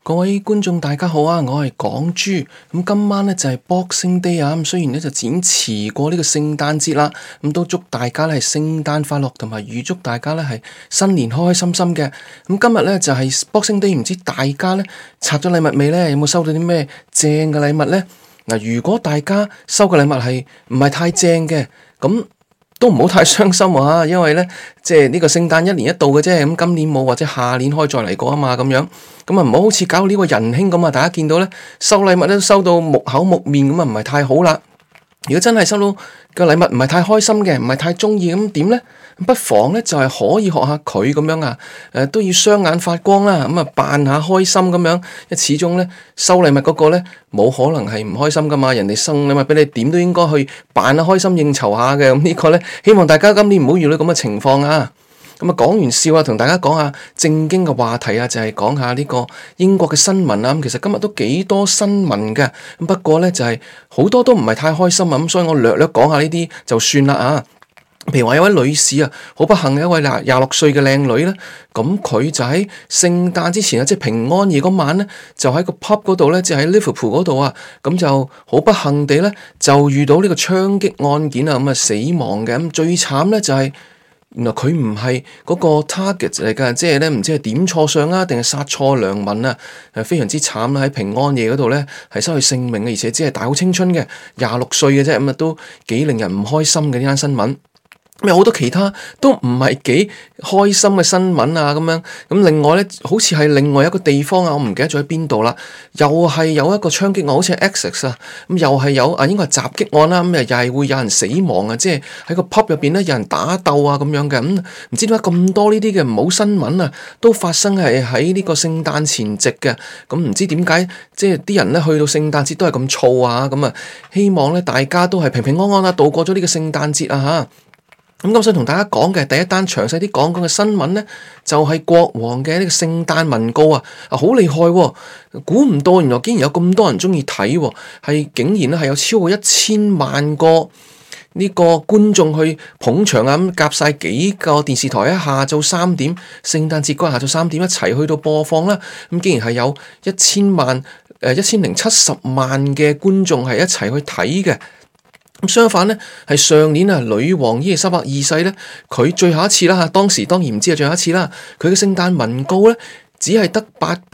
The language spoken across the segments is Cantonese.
各位觀眾大家好啊，我係港豬。今晚咧就係 Boxing Day 啊，雖然咧就展遲過呢個聖誕節啦，都祝大家咧係聖誕快樂，同埋預祝大家咧係新年開開心心嘅。今日咧就係 Boxing Day，唔知大家咧拆咗禮物未咧？有冇收到啲咩正嘅禮物咧？如果大家收嘅禮物係唔係太正嘅，咁都唔好太傷心啊，因為咧即係呢個聖誕一年一度嘅啫，咁今年冇或者下年可以再嚟過啊嘛，咁樣咁啊唔好好似搞到呢個仁兄咁啊，大家見到咧收禮物都收到木口木面咁啊，唔係太好啦。如果真係收到個禮物唔係太開心嘅，唔係太中意咁點咧？不妨咧就係可以學下佢咁樣啊，都要雙眼發光啦，咁啊扮下開心咁樣，因為始終咧收禮物嗰個咧冇可能係唔開心噶嘛，人哋送禮物俾你，點都應該去扮下開心應酬下嘅。咁呢個咧希望大家今年唔好遇到咁嘅情況啊。咁啊講完笑啊，同大家講下正經嘅話題啊，就係講下呢個英國嘅新聞啊。咁其實今日都幾多新聞嘅，不過咧就係好多都唔係太開心啊。咁所以我略略講下呢啲就算啦啊。譬如話有位女士啊，好不幸嘅一位26歲嘅靚女咧，咁佢就喺聖誕之前啊，即係平安夜嗰晚咧，就喺個 pub 嗰度咧，即係喺 Liverpool 嗰度啊，咁就好不幸地咧，就遇到呢個槍擊案件啊，咁啊死亡嘅。咁最慘咧就係原來佢唔係嗰個 target 嚟㗎，即係咧唔知係點錯相啊，定係殺錯良民啊，非常之慘啦！喺平安夜嗰度咧係失去性命嘅，而且只係大好青春嘅26歲嘅啫，咁啊都幾令人唔開心嘅呢單新聞。有好多其他都唔係幾開心嘅新聞啊，咁樣咁另外咧，好似係另外一個地方啊，我唔記得咗喺邊度啦，又係有一個槍擊案，好似係 Essex 啊，咁又係有啊，應該係襲擊案啦，咁又係會有人死亡啊，即係喺個 pub 入邊咧有人打鬥啊咁樣嘅，咁唔知點解咁多呢啲嘅唔好新聞啊，都發生係喺呢個聖誕前夕嘅，咁唔知點解即係啲人咧去到聖誕節都係咁燥啊，咁啊希望咧大家都係平平安安啊度過咗呢個聖誕節啊嚇。咁想同大家講嘅第一單詳細啲講嘅新聞咧，就係國王嘅呢個聖誕文告啊，好厲害喎！估唔到原來竟然有咁多人中意睇喎，係竟然咧係有超過1000萬個呢個觀眾去捧場啊！咁夾晒幾個電視台喺下晝3點，聖誕節嗰日下晝3點一齊去到播放啦！咁竟然係有1070萬嘅觀眾係一齊去睇嘅。相反咧，係上年啊，女王伊麗莎白二世咧，佢最後一次啦嚇，當時當然唔知係最後一次啦。佢嘅聖誕文告咧，只係得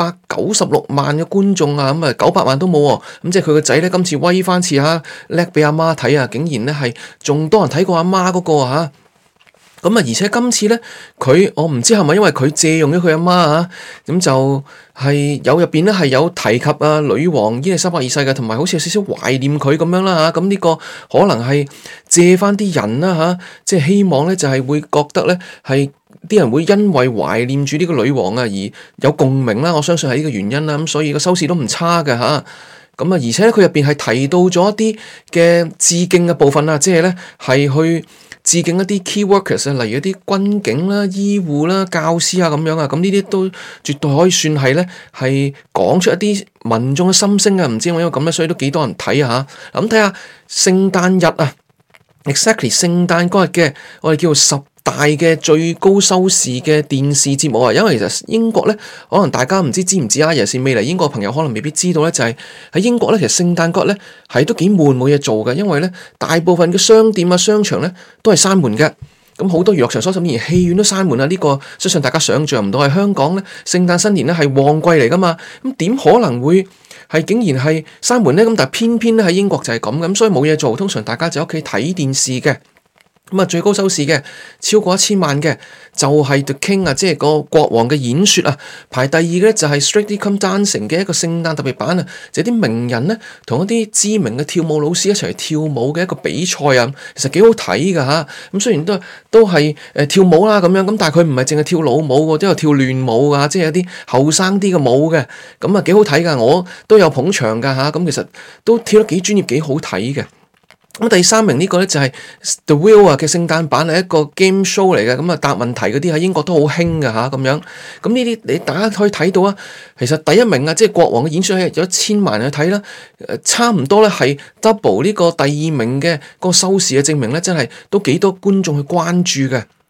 896萬嘅觀眾啊，咁啊900萬都冇喎。咁即係佢個仔咧，今次威翻次嚇，叻俾阿媽睇啊，竟然咧係仲多人睇過阿媽嗰個嚇。咁啊，而且今次咧，我唔知係咪因為佢借用咗佢阿媽啊，咁就係有入邊咧係有提及啊女王伊麗莎白二世嘅，同埋好似有少少懷念佢咁樣啦嚇。咁呢個可能係借翻啲人啦嚇，即係希望咧就係會覺得咧係啲人會因為懷念住呢個女王啊而有共鳴啦。我相信係呢個原因啦。咁所以個收視都唔差嘅嚇。咁啊，而且咧佢入邊係提到咗一啲嘅致敬嘅部分啊，即係咧係去致敬一啲 key workers 啊，例如一啲軍警啦、醫護啦、教師啊咁樣啊，咁呢啲都絕對可以算係咧係講出一啲民眾嘅心聲啊。唔知因為咁咧，所以都幾多人睇啊嚇。咁睇下聖誕日啊 ，exactly 聖誕嗰日嘅我哋叫做10大嘅最高收視嘅電視節目啊，因為其實英國咧，可能大家唔知唔知啊，尤其是未嚟英國嘅朋友可能未必知道咧，就係喺英國咧，其實聖誕嗰日咧係都幾悶冇嘢做嘅，因為咧大部分嘅商店啊、商場咧都係閂門嘅，咁好多娛樂場所甚至連戲院都閂門啊！呢個相信大家想象唔到，喺香港咧聖誕新年咧係旺季嚟噶嘛，咁點可能會係竟然係閂門咧？咁但係偏偏咧喺英國就係咁，所以冇嘢做，通常大家就喺屋企睇電視嘅。咁啊，最高收視嘅超過1000萬嘅就係 The King 啊，即係個國王嘅演說啊。排第二嘅咧就係 Strictly Come Dancing 嘅一個聖誕特別版啊，就係啲名人咧同一啲知名嘅跳舞老師一齊跳舞嘅一個比賽啊。其實幾好睇噶吓。咁雖然都係跳舞啦咁樣，咁但係佢唔係淨係跳老舞，都有跳亂舞啊，即係一啲後生啲嘅舞嘅。咁啊幾好睇噶，我都有捧場噶吓。咁其實都跳得幾專業，幾好睇嘅。咁第3名呢個咧就係 The Wheel 啊嘅聖誕版，係一個 game show 嚟嘅，咁啊答問題嗰啲喺英國都好興㗎吓咁樣。咁呢啲你大家可以睇到啊，其實第1名啊，即係國王嘅演說係有1000萬人去睇啦，差唔多咧係 double 呢個第2名嘅個收視嘅，證明咧真係都幾多觀眾去關注嘅。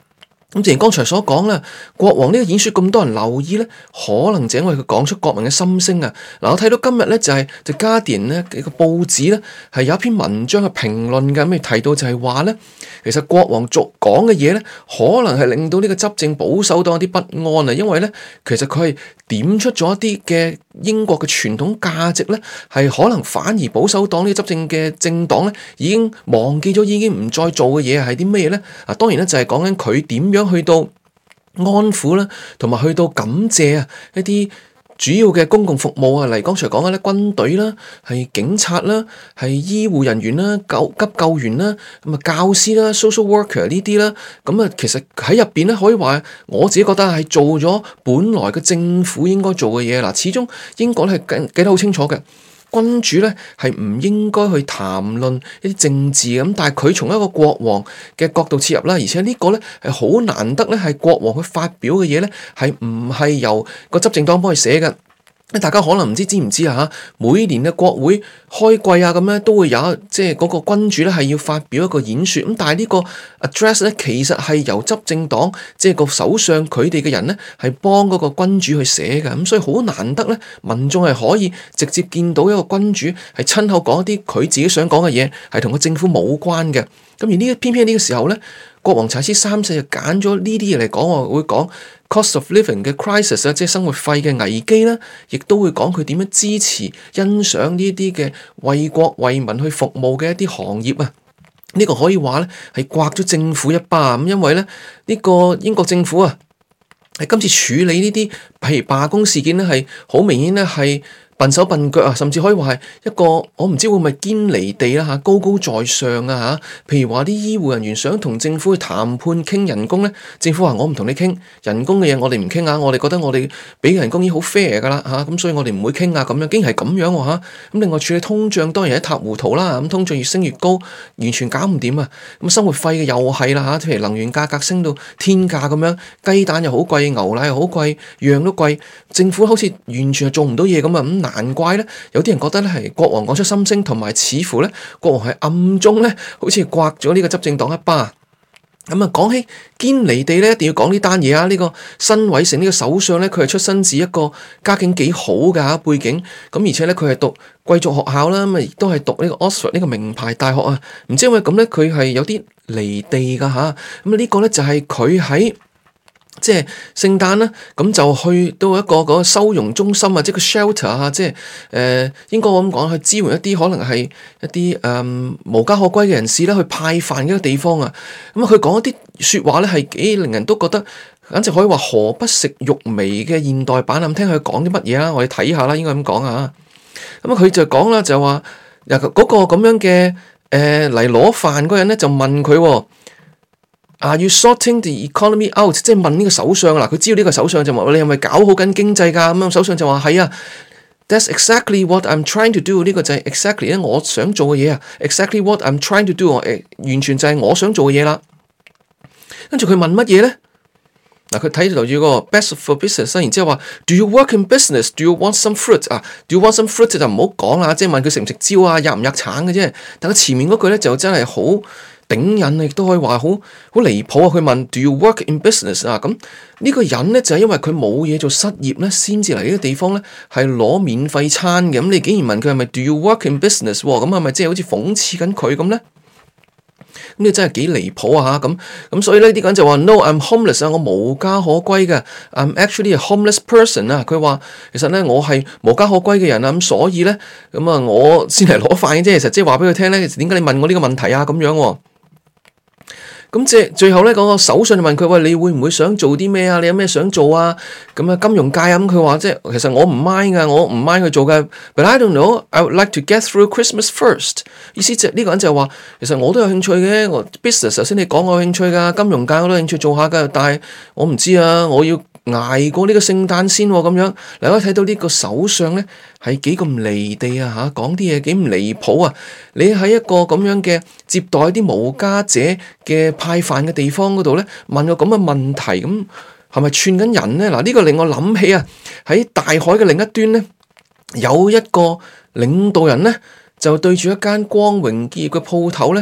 咁正如剛才所講啦，國王呢個演說咁多人留意咧，可能就因為佢講出國民嘅心聲啊。嗱，我睇到今日咧就係《The Guardian》咧嘅個報紙咧係有一篇文章嘅評論嘅，咁提到就係話咧，其實國王講嘅嘢咧，可能係令到呢個執政保守黨有啲不安啊，因為咧其實佢係點出咗一啲嘅英國嘅傳統價值咧，係可能反而保守黨呢個執政嘅政黨咧已經忘記咗，已經唔再做嘅嘢係啲咩咧？啊，當然咧就係講緊佢點樣去到安撫啦，同埋去到感謝啊一啲主要嘅公共服務啊，例如剛才講嘅咧軍隊啦，係警察啦，係醫護人員啦，急救員啦，咁啊教師啦 social worker 呢啲啦，咁啊其實喺入邊咧可以話，我自己覺得係做咗本來嘅政府應該做嘅嘢啦。始終英國咧係記得好清楚嘅。君主咧係唔應該去談論一啲政治咁，但係佢從一個國王嘅角度切入啦，而且呢個咧係好難得咧，係國王去發表嘅嘢咧，係唔係由個執政黨幫佢寫嘅。大家可能唔知唔知啊嚇，每年嘅國會開季啊咁咧，都會有即係嗰個君主咧係要發表一個演說咁，但係呢個 address 咧其實係由執政黨即係個首相佢哋嘅人咧係幫嗰個君主去寫嘅，咁所以好難得咧，民眾係可以直接見到一個君主係親口講一啲佢自己想講嘅嘢，係同個政府冇關嘅。咁而呢偏偏呢個時候咧，國王查斯三世就揀咗呢啲嘢嚟講，我會講 cost of living 嘅 crisis 啊，即係生活費嘅危機啦，亦都會講佢點樣支持、欣賞呢啲嘅為國為民去服務嘅一啲行業啊。呢個可以話咧係刮咗政府一巴咁，因為咧呢個英國政府啊，係今次處理呢啲譬如罷工事件咧，係好明顯咧係笨手笨腳啊，甚至可以話係一個我唔知會唔會堅離地啦嚇，高高在上啊嚇。譬如話啲醫護人員想同政府去談判傾人工咧，政府話我唔同你傾人工嘅嘢，我哋唔傾啊，我哋覺得我哋俾嘅人工已經好 fair 噶啦嚇，咁所以我哋唔會傾啊咁樣，竟然係咁樣喎嚇。咁另外處理通脹當然一塌糊塗啦，咁通脹越升越高，完全搞唔掂啊。咁生活費嘅又係啦嚇，譬如能源價格升到天價咁樣，雞蛋又好貴，牛奶又好貴，樣都貴，政府好似完全係做唔到嘢咁啊咁。難怪咧，有啲人覺得咧係國王講出心聲，同埋似乎咧國王係暗中咧，好似刮咗呢個執政黨一巴。咁啊，講起堅離地咧，一定要講呢單嘢啊！呢個辛偉誠呢個首相咧，佢係出身自一個家境幾好嘅背景，咁而且咧佢係讀貴族學校啦，咁啊亦都係讀呢個 Oxford 呢個名牌大學啊。唔知因為咁咧，佢係有啲離地噶吓。咁啊呢個咧就係佢喺即係聖誕啦，咁就去到一個嗰個收容中心啊，即係個 shelter 啊，即係應該我咁講，去支援一啲可能係一啲無家可歸嘅人士啦，去派飯嘅一個地方啊。咁啊，佢講一啲說話咧，係幾令人都覺得簡直可以話何不食肉糜嘅現代版啊！咁聽佢講啲乜嘢啊？我哋睇下啦，應該咁講啊。咁啊，佢就講啦，就話嗰個咁樣嘅嚟攞飯嗰人咧，就問佢。Are you sorting the economy out？ 即係問呢個首相啦，佢知道呢個首相就問你係咪搞好緊經濟㗎？咁樣首相就話係啊 ，That's exactly what I'm trying to do。呢個就係 exactly 咧我想做嘅嘢啊 ，exactly what I'm trying to do。完全就係我想做嘅嘢啦。跟住佢問乜嘢咧？嗱，佢睇住個 best for business， 然之後話 Do you work in business? Do you want some fruit？ 啊 ，Do you want some fruit 就唔好講啦，即係問佢食唔食蕉啊，吔唔吔橙嘅啫。但佢前面嗰句咧就真係好頂癮，亦都可以話好離譜啊！佢問 Do you work in business 啊？咁呢個人咧就係因為佢冇嘢做失業咧，先至嚟呢個地方咧係攞免費餐嘅。咁你竟然問佢係咪 Do you work in business？咁係咪即係好似諷刺緊佢咁咧？咁你真係幾離譜啊！咁所以呢啲人就話 No，I'm homeless 啊，我無家可歸嘅。I'm actually a homeless person 啊。佢話其實咧我係無家可歸嘅人啊，咁所以咧咁啊我先嚟攞飯嘅啫。其實即係話俾佢聽咧，點解你問我呢個問題啊？咁樣。咁即係最後咧，嗰個首相就問佢：喂，你會唔會想做啲咩啊？你有咩想做啊？咁啊，金融界啊，咁佢話即係其實我唔 mind 噶，我唔 mind 去做嘅。But I don't know. I would like to get through Christmas first。意思即係呢個人就話，其實我都有興趣嘅。我 business 頭先你講我有興趣噶，金融界我都有興趣做下噶，但係我唔知啊，我要捱過呢個聖誕先咁樣。你可以睇到呢個首相咧係幾咁離地啊嚇，講啲嘢幾咁離譜啊！你喺一個咁樣嘅接待啲無家者嘅派飯嘅地方嗰度咧，問個咁嘅問題，咁係咪串緊人咧？嗱，呢個令我諗起啊，喺大海嘅另一端咧，有一個領導人咧，就對住一間光榮結業嘅鋪頭咧，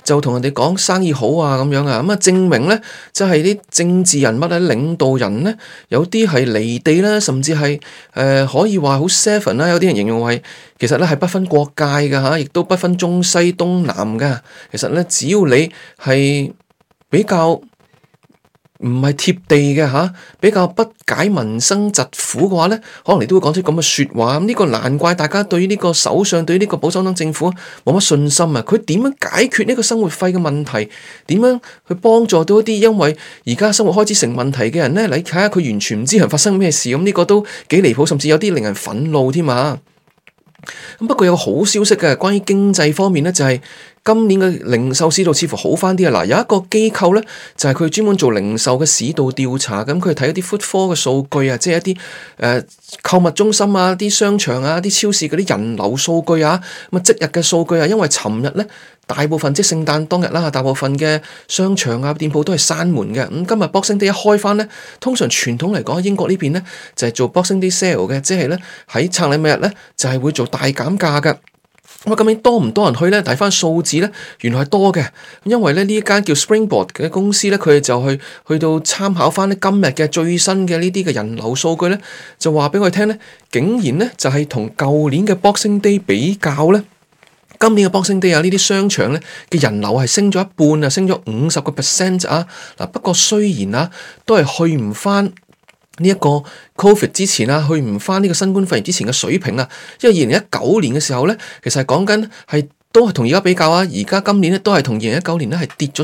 就同人哋講生意好啊咁樣啊，咁啊證明咧，即係啲政治人物啊、領導人咧，有啲係離地啦，甚至係可以話好 seven 啦，有啲人形容為其實咧係不分國界嘅嚇，亦都不分中西東南嘅。其實咧，只要你係比較唔係貼地嘅嚇，比較不解民生疾苦嘅話咧，可能你都會講出咁嘅説話。咁呢個難怪大家對於呢個首相、對於呢個保守黨政府冇乜信心啊！佢點樣解決呢個生活費嘅問題？點樣去幫助到一啲因為而家生活開支成問題嘅人咧？你睇下佢完全唔知人發生咩事，咁呢個都幾離譜，甚至有啲令人憤怒添啊！咁不過有個好消息嘅，關於經濟方面咧，就係今年嘅零售市道似乎好翻啲啊！嗱，有一個機構咧，就係佢專門做零售嘅市道調查，咁佢睇一啲 footfall 嘅數據啊，即係一啲購物中心啊、啲商場啊、啲超市嗰啲人流數據啊，咁啊即日嘅數據啊，因為尋日咧大部分即係聖誕當日啦，大部分嘅商場啊、店鋪都係閂門嘅。咁今日 Boxing Day 一開翻咧，通常傳統嚟講，英國呢邊咧就係做 Boxing Day sale 嘅，即係咧喺拆禮物日咧就係會做大減價嘅。咁啊，今年多唔多人去咧？睇翻數字咧，原來係多嘅。因為咧呢一間叫 Springboard 嘅公司咧，佢哋就去到參考翻咧今日嘅最新嘅呢啲嘅人流數據咧，就話俾我哋聽咧，竟然咧就係同舊年嘅 Boxing Day 比較咧，今年嘅 Boxing Day 啊呢啲商場咧嘅人流係升咗一半啊，升咗50% 啊。嗱，不過雖然啊，都係去唔翻呢一個 Covid 之前啊，去唔翻呢個新冠肺炎之前嘅水平啊，因為2019年嘅時候咧，其實係講緊係都係同而家比較啊，而家今年咧都係同2019年咧係跌咗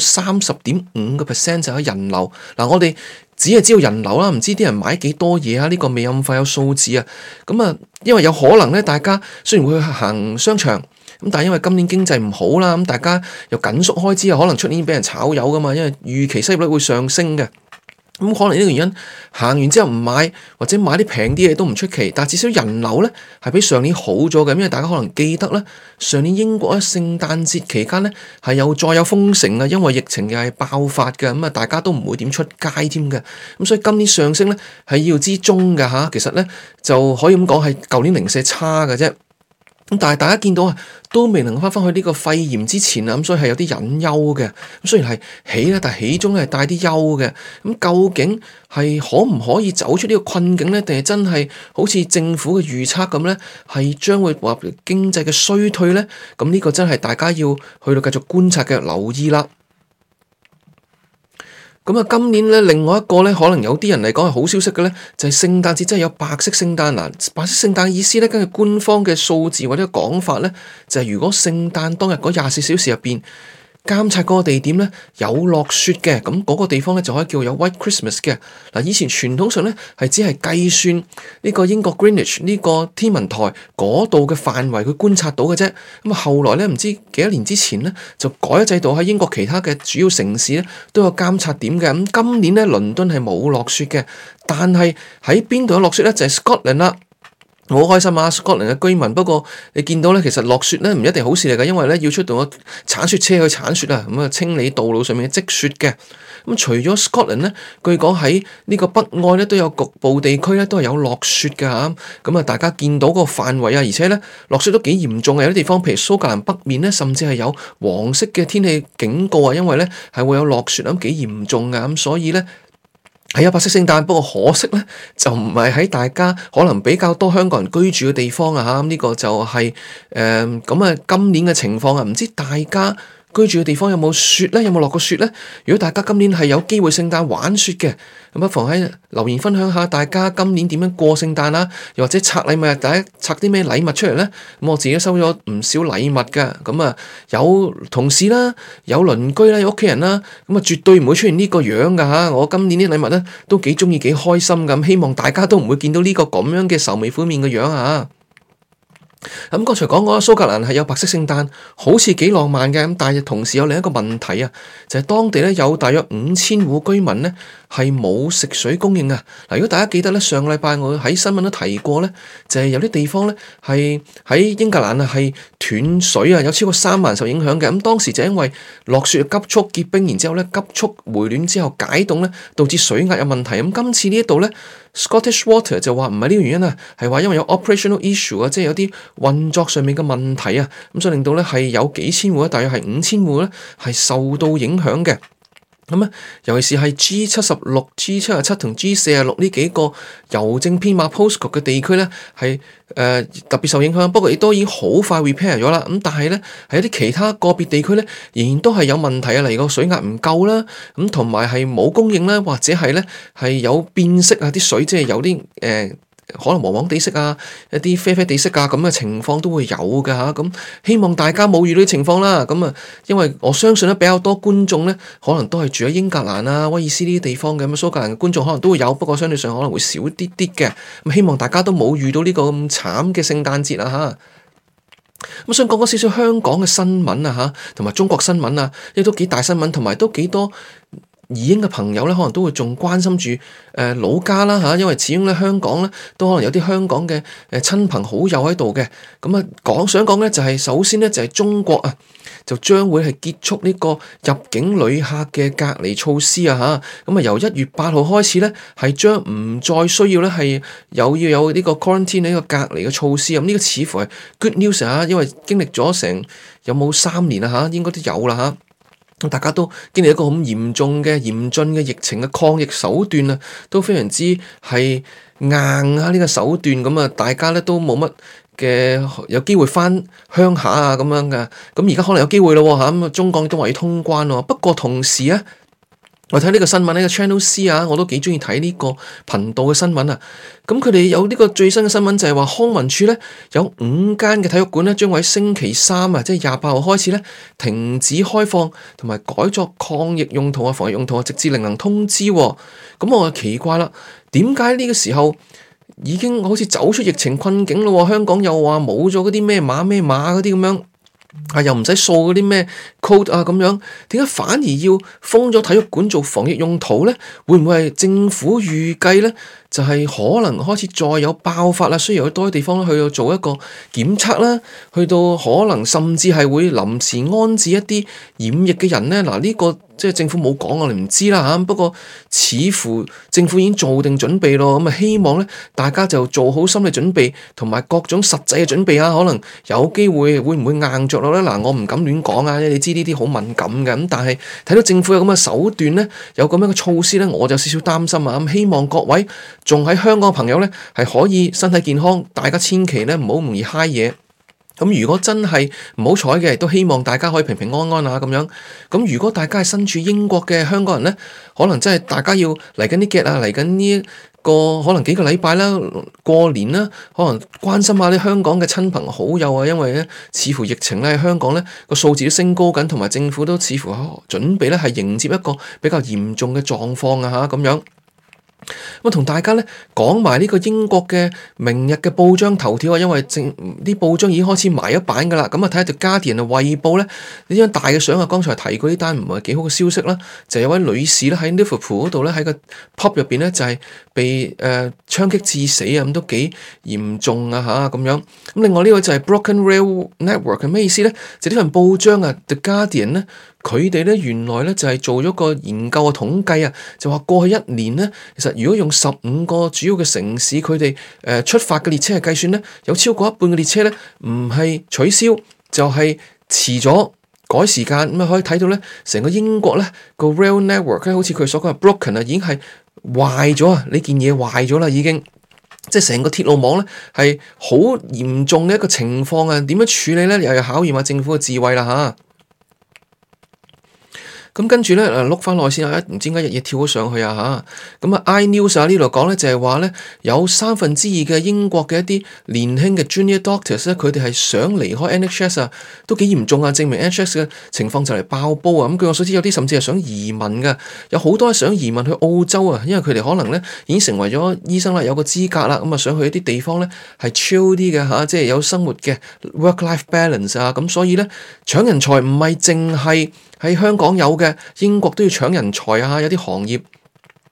30.5% 就係人流。嗱，我哋只係知道人流啦，唔知啲人買幾多嘢啊，呢個未咁快有數字啊。咁啊，因為有可能咧，大家雖然會去行商場，咁但係因為今年經濟唔好啦，咁大家又緊縮開支啊，可能出年俾人炒魷噶嘛，因為預期失業率會上升嘅。咁可能呢個原因行完之後唔買，或者買啲平啲嘢都唔出奇，但係至少人流咧係比上年好咗嘅，因為大家可能記得咧，上年英國喺聖誕節期間咧係再有封城啊，因為疫情又係爆發嘅，咁啊大家都唔會點出街添嘅，咁所以今年上升咧係意料之中嘅嚇，其實咧就可以咁講係舊年零舍差嘅啫。咁但係大家見到啊，都未能翻返去呢個肺炎之前啊，咁所以係有啲隱憂嘅。咁雖然係起啦，但係起中咧係帶啲憂嘅。咁究竟係可唔可以走出呢個困境咧？定係真係好似政府嘅預測咁咧，係將會話經濟嘅衰退咧？咁呢個真係大家要去到繼續觀察嘅，留意啦。咁啊，今年咧另外一個咧，可能有啲人嚟講係好消息嘅咧，就係聖誕節真係有白色聖誕嗱。白色聖誕意思咧，根據官方嘅數字或者講法咧，就係如果聖誕當日嗰24小時入邊，監察嗰個地點咧有落雪嘅，咁嗰個地方咧就可以叫有 White Christmas 嘅。嗱，以前傳統上咧係只係計算呢個英國 Greenwich 呢個天文台嗰度嘅範圍去觀察到嘅啫。咁啊，後來咧唔知幾多年之前咧就改咗制度，喺英國其他嘅主要城市咧都有監察點嘅。咁今年咧倫敦係冇落雪嘅，但係喺邊度有落雪咧？就係 Scotland 啦。好開心啊！Scotland 嘅居民，不過你見到咧，其實落雪咧唔一定好事嚟㗎，因為咧要出動個鏟雪車去鏟雪啊，咁啊清理道路上面嘅積雪嘅。咁除咗 Scotland 咧，據講喺呢個北愛咧都有局部地區咧都係有落雪㗎嚇。咁啊，大家見到個範圍啊，而且咧落雪都幾嚴重嘅，有啲地方譬如蘇格蘭北面咧，甚至係有黃色嘅天氣警告啊，因為咧係會有落雪咁幾嚴重㗎，咁所以咧。係有白色聖誕，不過可惜咧，就唔係喺大家可能比較多香港人居住嘅地方啊嚇，呢個就係咁啊今年嘅情況啊，唔知大家居住嘅地方有冇雪咧？有冇落過雪咧？如果大家今年係有機會聖誕玩雪嘅，咁不妨喺留言分享下大家今年點樣過聖誕啦，又或者拆禮物，大家拆啲咩禮物出嚟咧？咁我自己都收咗唔少禮物㗎，咁啊有同事啦，有鄰居啦，有屋企人啦，咁啊絕對唔會出現呢個樣㗎嚇。我今年啲禮物咧都幾鍾意幾開心咁，希望大家都唔會見到呢個咁樣嘅愁眉苦面嘅樣啊！咁剛才講過蘇格蘭係有白色聖誕，好似幾浪漫嘅，咁但係同時有另一個問題啊，就係當地咧有大約5000戶居民咧係冇食水供應啊！嗱，如果大家記得咧，上個禮拜我喺新聞都提過咧，就係有啲地方咧係喺英格蘭啊係斷水啊，有超過3萬人受影響嘅。咁當時就因為落雪急速結冰，然之後咧急速回暖之後解凍咧，導致水壓有問題。咁今次呢一度咧 Scottish Water 就話唔係呢個原因啊，係話因為有 operational issue 啊，即係有啲運作上面嘅問題啊，咁所以令到咧係有幾千戶，大約係5000戶咧係受到影響嘅。咁啊，尤其是係 G76、G77 同 G46呢幾個郵政編碼 postcode 嘅地區咧，係特別受影響。不過亦都已經好快 repair 咗啦。咁但係咧，喺一啲其他個別地區咧，仍然都係有問題啊。例如個水壓唔夠啦，咁同埋係冇供應啦，或者係咧係有變色啊，啲水即係有啲可能黃黃地色啊，一啲啡啡地色啊咁嘅情況都會有㗎吓，咁希望大家冇遇到啲情況啦。咁啊，因為我相信咧比較多觀眾咧，可能都係住喺英格蘭啊、威爾斯呢啲地方嘅，咁蘇格蘭嘅觀眾可能都會有，不過相對上可能會少啲啲嘅。咁希望大家都冇遇到呢個咁慘嘅聖誕節啊吓。咁想講少少香港嘅新聞啊吓，同埋中國新聞啊，亦都幾大新聞，同埋都幾多移英嘅朋友咧，可能都會仲關心住老家啦嚇，因為始終咧香港咧都可能有啲香港嘅親朋好友喺度嘅。咁啊想講咧就係首先咧就係中國啊就將會係結束呢個入境旅客嘅隔離措施啊嚇。咁啊由1月8號開始咧係將唔再需要咧係要有呢個 quarantine 呢個隔離嘅措施。咁呢個似乎係 good news 啊，因為經歷咗成有冇3年啊嚇，應該都有啦嚇。大家都經歷一個好嚴峻嘅疫情嘅抗疫手段啊，都非常之係硬啊呢個手段。咁啊，大家咧都冇乜嘅有機會翻鄉下啊咁樣嘅。咁而家可能有機會咯嚇，咁啊中國都話要通關喎。不過同時啊，我睇呢個新聞呢個 Channel C 啊，我都幾中意睇呢個頻道嘅新聞啊。咁佢哋有呢個最新嘅新聞就係話康文署咧有5間嘅體育館咧將會喺星期3啊，即係28號開始咧停止開放同埋改作抗疫用途啊、防疫用途啊，直至另行通知。咁我就奇怪啦，點解呢個時候已經好似走出疫情困境咯？香港又話冇咗嗰啲咩碼嗰啲咁樣。又唔使掃嗰啲咩 code 啊咁樣，點解反而要封咗體育館做防疫用途咧？會唔會係政府預計咧？就係可能開始再有爆發啦，需要去多啲地方去到做一個檢測啦，去到可能甚至係會臨時安置一啲染疫嘅人咧。嗱，呢個即係政府冇講，我哋唔知啦嚇。不過似乎政府已經做定準備咯，咁啊希望咧大家就做好心理準備同埋各種實際嘅準備啊。可能有機會會唔會硬着落咧？嗱，我唔敢亂講啊，你知呢啲好敏感嘅。咁但係睇到政府有咁嘅手段咧，有咁樣嘅措施咧，我就少少擔心啊。咁希望各位仲喺香港嘅朋友咧，係可以身體健康，大家千祈咧唔好容易揩嘢。咁如果真係唔好彩嘅，都希望大家可以平平安安啊咁樣。咁如果大家係身處英國嘅香港人咧，可能真係大家要嚟緊啲 get 啊，嚟緊呢個可能幾個禮拜啦，過年啦，可能關心下啲香港嘅親朋好友啊，因為咧似乎疫情咧喺香港咧個數字都升高緊，同埋政府都似乎準備咧係迎接一個比較嚴重嘅狀況啊嚇咁樣。咁同大家咧講埋呢個英國嘅明日嘅報章頭條啊，因為啲報章已經開始埋一版噶啦。咁啊睇下條 Guardian 啊，衛報咧呢張大嘅相啊，剛才提過呢單唔係幾好嘅消息啦，就有位女士咧喺 Liverpool 嗰度咧喺個 pub 入邊咧就係被槍擊致死啊，咁都幾嚴重啊吓咁樣。咁另外呢個就係 Broken Rail Network 係咩意思咧？就呢份報章啊 The Guardian 咧。佢哋咧原來咧就係做咗個研究嘅統計啊，就話過去1年咧，其實如果用15個主要嘅城市佢哋出發嘅列車嚟計算咧，有超過一半嘅列車咧唔係取消就係遲咗改時間。咁啊可以睇到咧，成個英國咧個 rail network 咧，好似佢所講嘅 broken 啊，已經係壞咗啊！呢件嘢壞咗啦，已經即係成個鐵路網咧係好嚴重嘅一個情況啊！點樣處理咧？又要考驗下政府嘅智慧啦嚇。咁跟住咧，碌翻落先啊！唔知點解日夜跳咗上去啊嚇！咁啊，iNews 啊呢度講咧就係話咧，有2/3嘅英國嘅一啲年輕嘅 junior doctors 咧，佢哋係想離開 NHS 啊，都幾嚴重啊！證明 NHS 嘅情況就嚟爆煲啊！咁據我所知，有啲甚至係想移民嘅，有好多係想移民去澳洲啊，因為佢哋可能咧已經成為咗醫生啦，有個資格啦，咁啊想去一啲地方咧係 chill 啲嘅嚇，即係有生活嘅 work-life balance 啊，咁所以咧搶人才唔係淨係喺香港有嘅，英國都要搶人才啊！有啲行業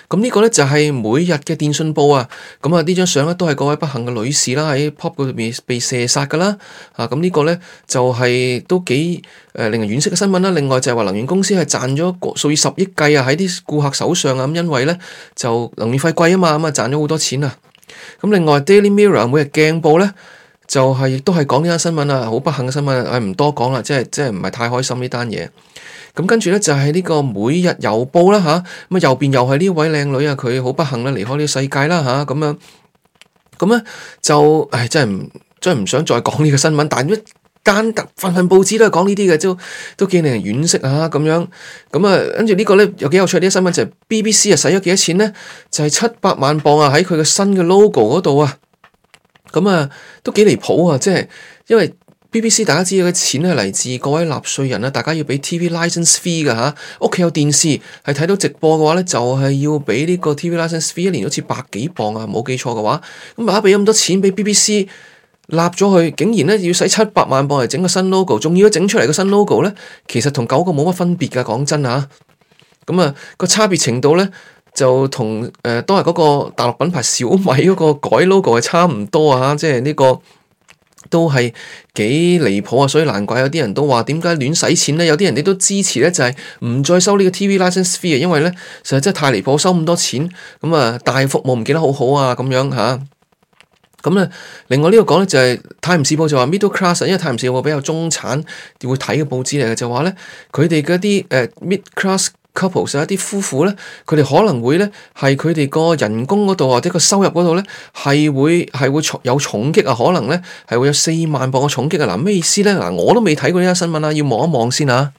咁呢個咧就係每日嘅電訊報啊，咁啊呢張相咧都係嗰位不幸嘅女士啦，喺 pub 嗰邊被射殺噶啦，咁呢個咧就係都幾令人惋惜嘅新聞啦。另外就係話能源公司係賺咗數以十億計啊喺啲顧客手上啊，咁因為咧就能源費貴啊嘛，咁啊賺咗好多錢啊。咁另外 Daily Mirror 每日鏡報咧就係亦都係講呢單新聞啊，好不幸嘅新聞，唔多講啦，即係唔係太開心呢單嘢。咁跟住咧就係呢個每日郵報啦吓，咁啊右邊又係呢位靚女啊，佢好不幸啦離開呢個世界啦吓，咁樣咁咧就真係唔想再講呢個新聞，但係一間份報紙都係講呢啲嘅，都幾令人惋惜啊咁樣。咁啊跟住呢個咧有幾有趣啲新聞就係 BBC 啊使咗幾多錢咧，就係700萬鎊啊喺佢嘅新嘅 logo 嗰度啊，咁啊都幾離譜啊，即係因為BBC 大家知道嘅錢係嚟自各位納稅人啦，大家要俾 TV license fee 㗎吓，屋企有電視係睇到直播嘅話咧，就係要俾呢個 TV license fee，一年好似100幾磅啊，冇記錯嘅話，咁啊俾咁多錢俾 BBC 立咗佢，竟然咧要使700萬磅嚟整個新 logo， 仲要整出嚟個新 logo 咧，其實同舊個冇乜分別㗎，講真吓，咁啊個差別程度咧就同都係嗰個大陸品牌小米嗰個改 logo 係差唔多啊，即係呢個。都係幾離譜啊，所以難怪有啲人都話點解亂使錢咧？有啲人都支持咧，就係唔再收呢個 TV license fee 啊，因為咧實在真係太離譜，收咁多錢，咁啊大服務唔見得好好啊咁樣吓。咁咧，另外呢個講咧就係《泰晤士報》就話 middle class， 因為《泰晤士報》比較中產會睇嘅報紙嚟嘅，就話咧佢哋嗰啲mid class couples 一啲夫婦咧，佢哋可能會咧係佢哋個人工嗰度或者個收入嗰度咧係會有重擊啊，可能咧係會有4萬磅嘅重擊啊！嗱，咩意思咧？嗱，我都未睇過呢單新聞啊，要望一望先啊。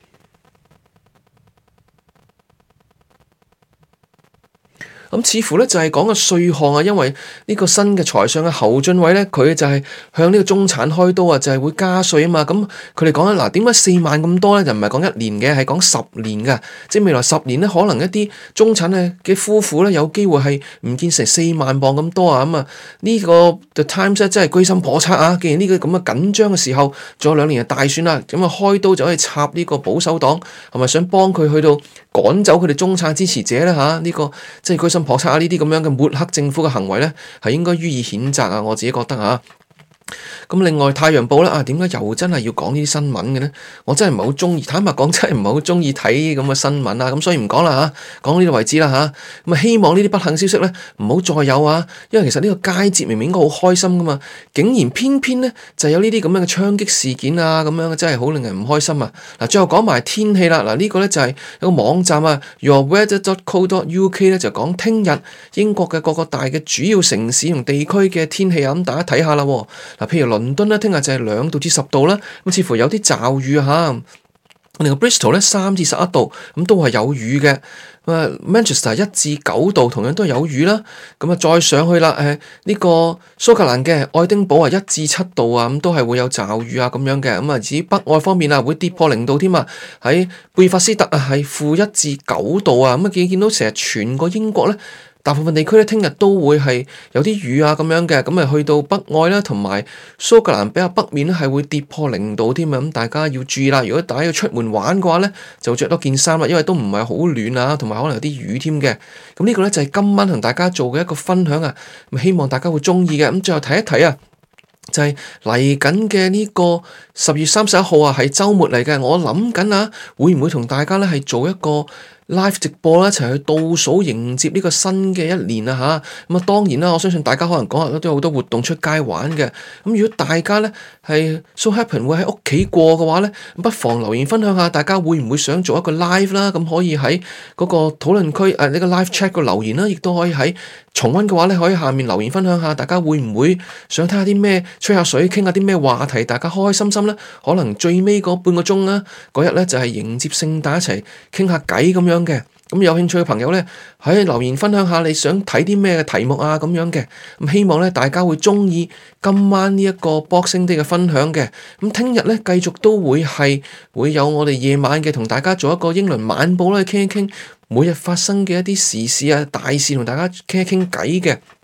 咁似乎咧就係講個稅項啊，因為呢個新嘅財相嘅侯俊偉咧，佢就係向呢個中產開刀啊，就係會加稅啊嘛。咁佢哋講咧，嗱，點解4萬咁多咧？就唔係講1年嘅，係講10年嘅，即係未來10年咧，可能一啲中產嘅夫婦咧，有機會係唔見成4萬磅咁多啊。咁啊，呢個 The Times 咧真係居心叵測啊！既然呢個咁嘅緊張嘅時候，仲有2年就大選啦，咁啊開刀就可以插呢個保守黨，係咪想幫佢去到趕走佢哋中產支持者咧嚇？呢個即係居心叵測啊！呢啲咁樣嘅抹黑政府嘅行為咧，係應該予以譴責啊！我自己覺得嚇。咁另外《太陽報》咧點解又真係要講呢啲新聞嘅咧？我真係唔係好中意，坦白講真係唔係好中意睇咁嘅新聞啊！咁所以唔講啦嚇，講到呢度為止啦嚇。咁啊，希望呢啲不幸消息咧唔好再有啊！因為其實呢個佳節明明應該好開心噶嘛，竟然偏偏咧就有呢啲咁樣嘅槍擊事件啊，咁樣真係好令人唔開心啊！嗱，最後講埋天氣啦，嗱呢個咧就係有個網站啊 yourweather.co.uk 咧就講聽日英國嘅各個大嘅主要城市同地區嘅天氣啊，咁大家睇下啦。嗱，譬如倫敦咧，聽日就係2度至10度啦，咁似乎有啲驟雨嚇。另外 Bristol 咧3至11度，咁都係有雨嘅。Manchester 1至9度，同樣都係有雨啦。咁啊，再上去啦，呢個蘇格蘭嘅愛丁堡啊1至7度啊，咁都係會有驟雨啊咁樣嘅。咁啊，至於北愛方面啊，會跌破0度添啊。喺貝法斯特啊，係-1至9度啊。咁啊，見到成日全個英國咧，大部分地區咧，聽日都會係有啲雨啊咁樣嘅，咁啊去到北愛啦，同埋蘇格蘭比較北面咧，係會跌破0度添啊，咁大家要注意啦。如果大家要出門玩嘅話咧，就着多件衫啦，因為都唔係好暖啊，同埋可能有啲雨添嘅。咁呢個咧就係今晚同大家做嘅一個分享啊，咁希望大家會中意嘅。咁最後睇一睇啊，就係嚟緊嘅呢個10月31號啊，係週末嚟嘅。我諗緊啊，會唔會同大家咧係做一個live 直播啦，一齊去倒數迎接呢個新嘅一年啊吓，咁啊當然啦，我相信大家可能嗰日都有好多活動出街玩嘅。咁如果大家咧係 so happen 會喺屋企過嘅話咧，不妨留言分享下，大家會唔會想做一個 live 啦？咁可以喺嗰個討論區呢個 live chat 個留言啦，亦都可以喺重溫嘅話咧，可以下面留言分享下，大家會唔會想睇下啲咩，吹下水，傾下啲咩話題，大家開開心心咧？可能最尾嗰半個鐘啦，嗰日咧就係迎接聖誕一齊傾下偈咁樣嘅。咁有興趣嘅朋友咧，喺留言分享下你想睇啲咩嘅題目啊咁樣嘅。咁希望咧大家會中意今晚呢一個 Boxing Day 嘅分享嘅。咁聽日咧繼續都會有我哋夜晚嘅同大家做一個英倫晚報啦，傾一傾每日發生嘅一啲時事啊大事，同大家傾一傾偈嘅。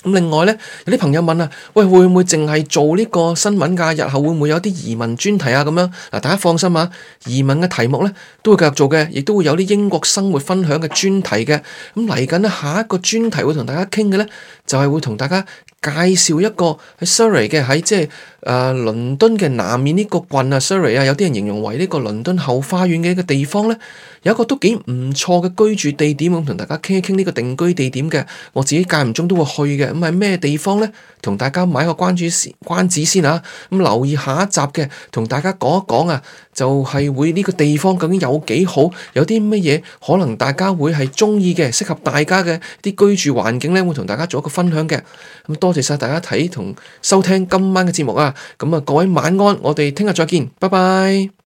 另外咧，有啲朋友問啊，喂，會唔會淨係做呢個新聞㗎？日後會唔會有啲移民專題啊？咁樣嗱，大家放心啊，移民嘅題目咧都會繼續做嘅，亦都會有啲英國生活分享嘅專題嘅。咁嚟緊咧，下一個專題會同大家傾嘅咧，就係會同大家介紹一個喺 Surrey 嘅，喺即係倫敦嘅南面呢個郡啊 Surrey 啊，有啲人形容為呢個倫敦後花園嘅一個地方咧，有一個都幾唔錯嘅居住地點，咁同大家傾一傾呢個定居地點嘅。我自己間唔中都會去嘅。咁係咩地方咧？同大家買個關子先啊！咁留意下一集嘅，同大家講一講啊，就係會呢個地方究竟有幾好，有啲乜嘢可能大家會係中意嘅，適合大家嘅啲居住環境咧，會同大家做一個分享嘅。咁多謝晒大家睇同收聽今晚嘅節目啊！咁啊，各位晚安，我哋聽日再見，拜拜。